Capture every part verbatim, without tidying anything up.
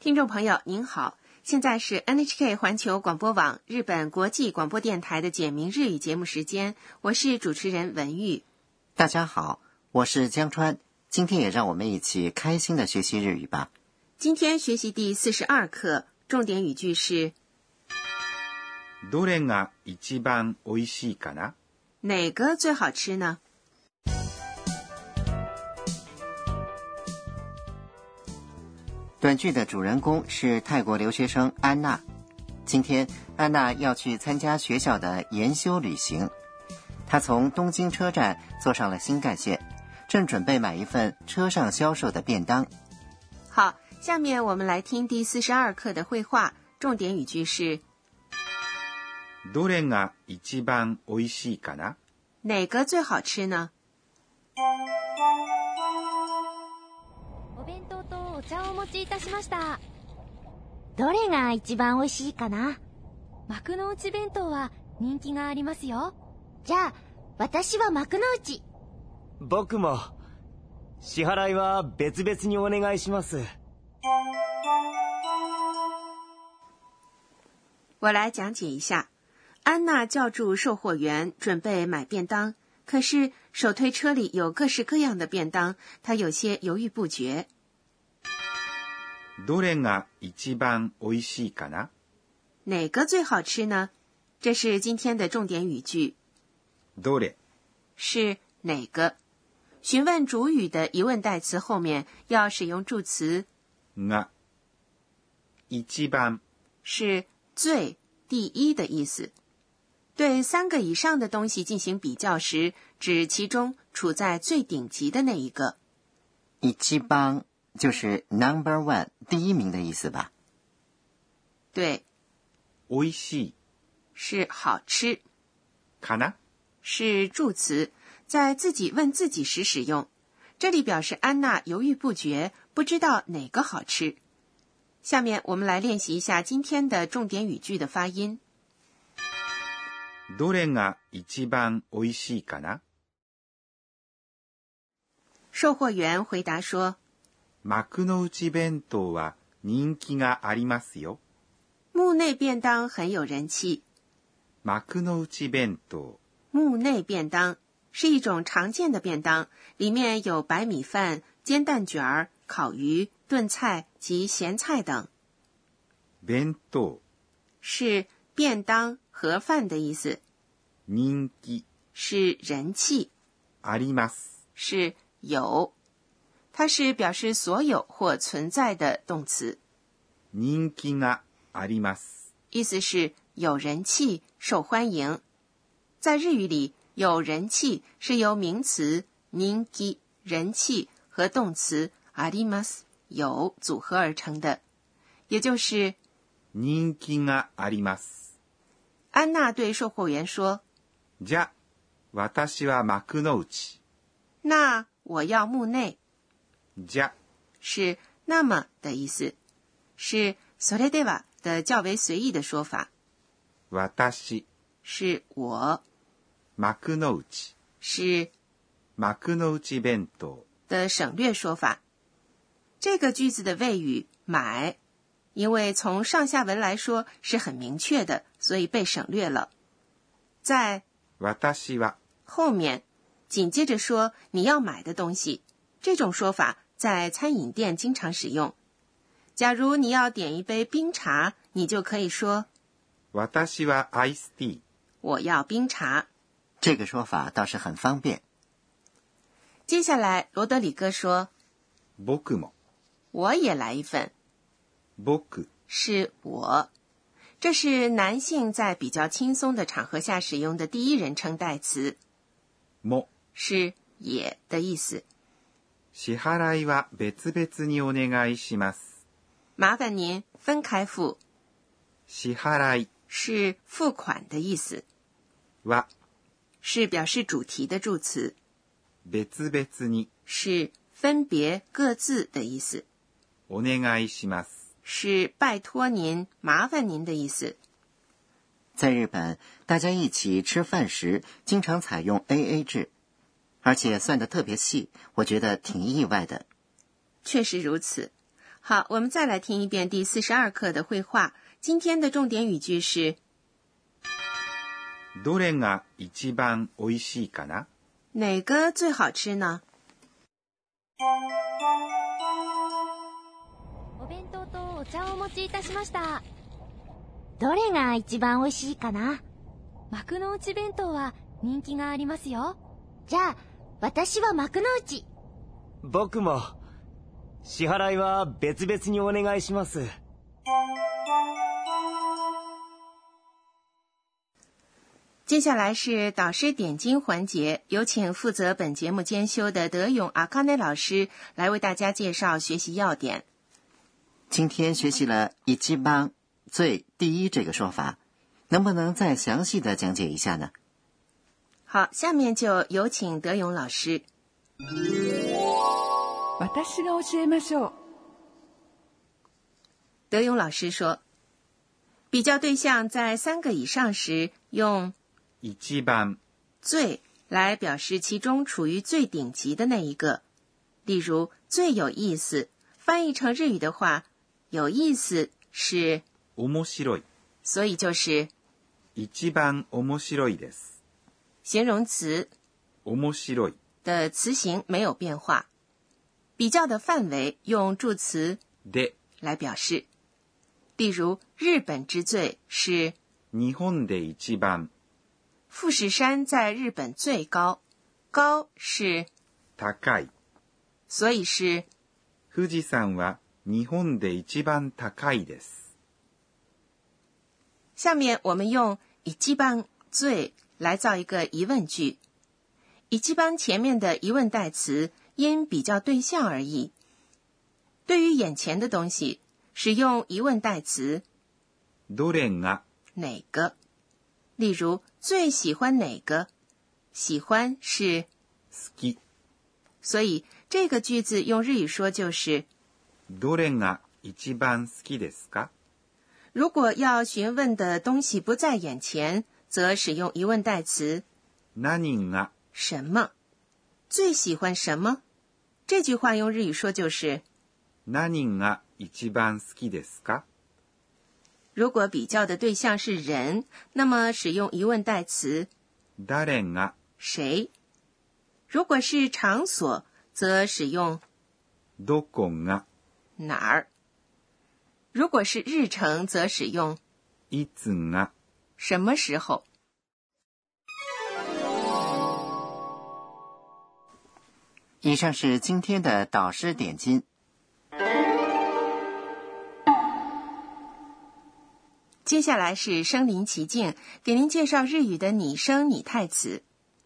听众朋友您好，现在是 N H K 环球广播网日本国际广播电台的简明日语节目时间，我是主持人文玉。 大家好，我是江川，今天也让我们一起开心的学习日语吧。 今天学习第四十二课，重点语句是どれが一番おいしいかな？ 哪个最好吃呢？ 短剧的主人公是泰国留学生安娜。今天安娜要去参加学校的研修旅行，她从东京车站坐上了新干线，正准备买一份车上销售的便当。 好，下面我们来听第四十二课的绘画，重点语句是どれが一番おいしいかな？ 哪个最好吃呢？ お弁当とお茶をお持ちいたしました。どれが一番おいしいかな？幕の内弁当は人気がありますよ。じゃあ、私は幕の内。 僕も。支払いは別々にお願いします。 我来讲解一下。安娜叫住售货员，准备买便当，可是手推车里有各式各样的便当，她有些犹豫不决。 どれが一番おいしいかな？ 哪个最好吃呢？这是今天的重点语句。 どれ是哪个？询问主语的疑问代词后面要使用助词が一番， 是最、第一的意思。对三个以上的东西进行比较时，指其中处在最顶级的那一个。 一番就是 number one 第一名的意思吧？ 对。 おいしい是好吃。 かな是助词，在自己问自己时使用。这里表示安娜犹豫不决，不知道哪个好吃。下面我们来练习一下今天的重点语句的发音。 どれが一番おいしいかな？ 售貨員回答说， 幕の内弁当は人気がありますよ。 幕内便当很有人气。 幕の内弁当， 幕内便当是一种常见的便当，里面有白米饭、煎蛋卷儿、烤鱼、炖菜及咸菜等。 弁当是便当、盒饭的意思。 人気是人气。 あります是有，它是表示所有或存在的动词。 人気があります， 意思是有人气、受欢迎。在日语里，有人气是由名词人気人气和动词あります有组合而成的，也就是人気があります。 安娜对售货员说， じゃ、私は幕の内。 那我要幕内。 じゃ是那么的意思，是それでは的较为随意的说法。 私是我。 幕の内是幕の内弁当的省略说法。这个句子的谓语买，因为从上下文来说是很明确的，所以被省略了。在私は后面紧接着说你要买的东西，这种说法在餐饮店经常使用。假如你要点一杯冰茶，你就可以说私はアイスティー。 我要冰茶。 这个说法倒是很方便。 接下来罗德里戈说， 僕も我也来一份。 僕是我，这是男性在比较轻松的场合下使用的第一人称代词。 も是也的意思。 支払いは別々にお願いします。 麻烦您分开付。 支払い是付款的意思。 は是表示主题的助词。 別々に是分别各自的意思。 お願いします是拜托您、麻烦您的意思。 在日本，大家一起吃饭时经常采用 A A 制，而且算得特别细，我觉得挺意外的。 确实如此。 好，我们再来听一遍第四十二课的绘画。今天的重点语句是どれが一番おいしいかな？ 哪个最好吃呢？ お弁当とお茶をお持ちいたしました。どれが一番おいしいかな？幕の内弁当は人気がありますよ。じゃあ、私は幕の内。 僕も。支払いは別々にお願いします。 接下来是导师点睛环节，有请负责本节目监修的德勇阿卡内老师来为大家介绍学习要点。 今天学习了一番最第一这个说法，能不能再详细的讲解一下呢？ 好，下面就有请德勇老师。 私が教えましょう。 德勇老师说，比较对象在三个以上时，用一番最来表示其中处于最顶级的那一个。例如，最有意思，翻译成日语的话，有意思是面白い， 所以就是一番面白いです。 形容词面白い的词形没有变化。比较的范围用助词で来表示，例如日本之最是日本で一番， 富士山在日本最高，高是高い， 所以是富士山は日本で一番高いです。 下面我们用一番最来造一个疑问句，一番前面的疑问代词因比较对象而异。对于眼前的東西，使用疑问代词どれが哪个。例如，最喜欢哪个？喜欢是好き， 所以这个句子用日语说就是どれが一番好きですか？ 如果要询问的东西不在眼前，则使用疑问代词何が什么。最喜欢什么？这句话用日语说就是何が一番好きですか？ 如果比较的对象是人，那么使用疑问代词誰が谁。如果是场所，则使用どこが哪儿。如果是日程，则使用いつが什么时候。 以上是今天的导师点睛。 接下来是身临其境，给您介绍日语的拟声拟态词。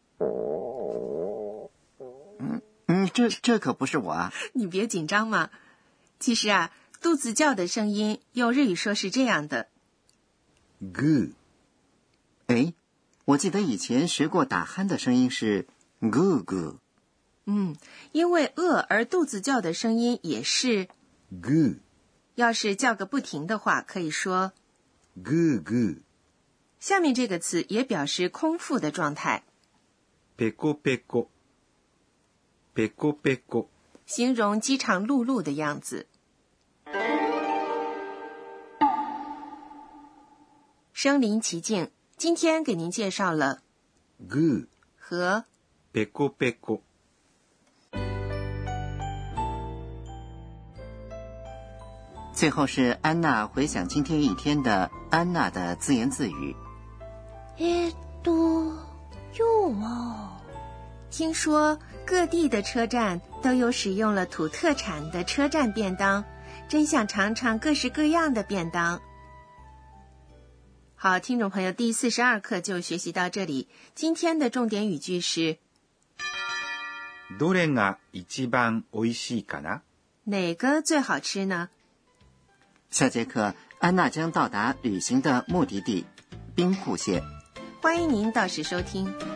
嗯嗯，这这可不是我啊！ 你别紧张嘛。其实啊，肚子叫的声音用日语说是这样的。 グー。 哎，我记得以前学过打鼾的声音是咕咕。 嗯，因为饿而肚子叫的声音也是グー。 要是叫个不停的话，可以说グーグー。 下面这个词也表示空腹的状态。 ペコペコ。ペコペコ。 形容饥肠辘辘的样子。身临其境，今天给您介绍了グー和ペコペコ。 最后是安娜回想今天一天的安娜的自言自语。 えっと、今日は听说各地的车站都有使用了土特产的车站便当，真想尝尝各式各样的便当。好，听众朋友，第四十二课就学习到这里。今天的重点语句是どれが一番おいしいかな？ 哪个最好吃呢？ 下节课安娜将到达旅行的目的地冰户县。 欢迎您到时收听。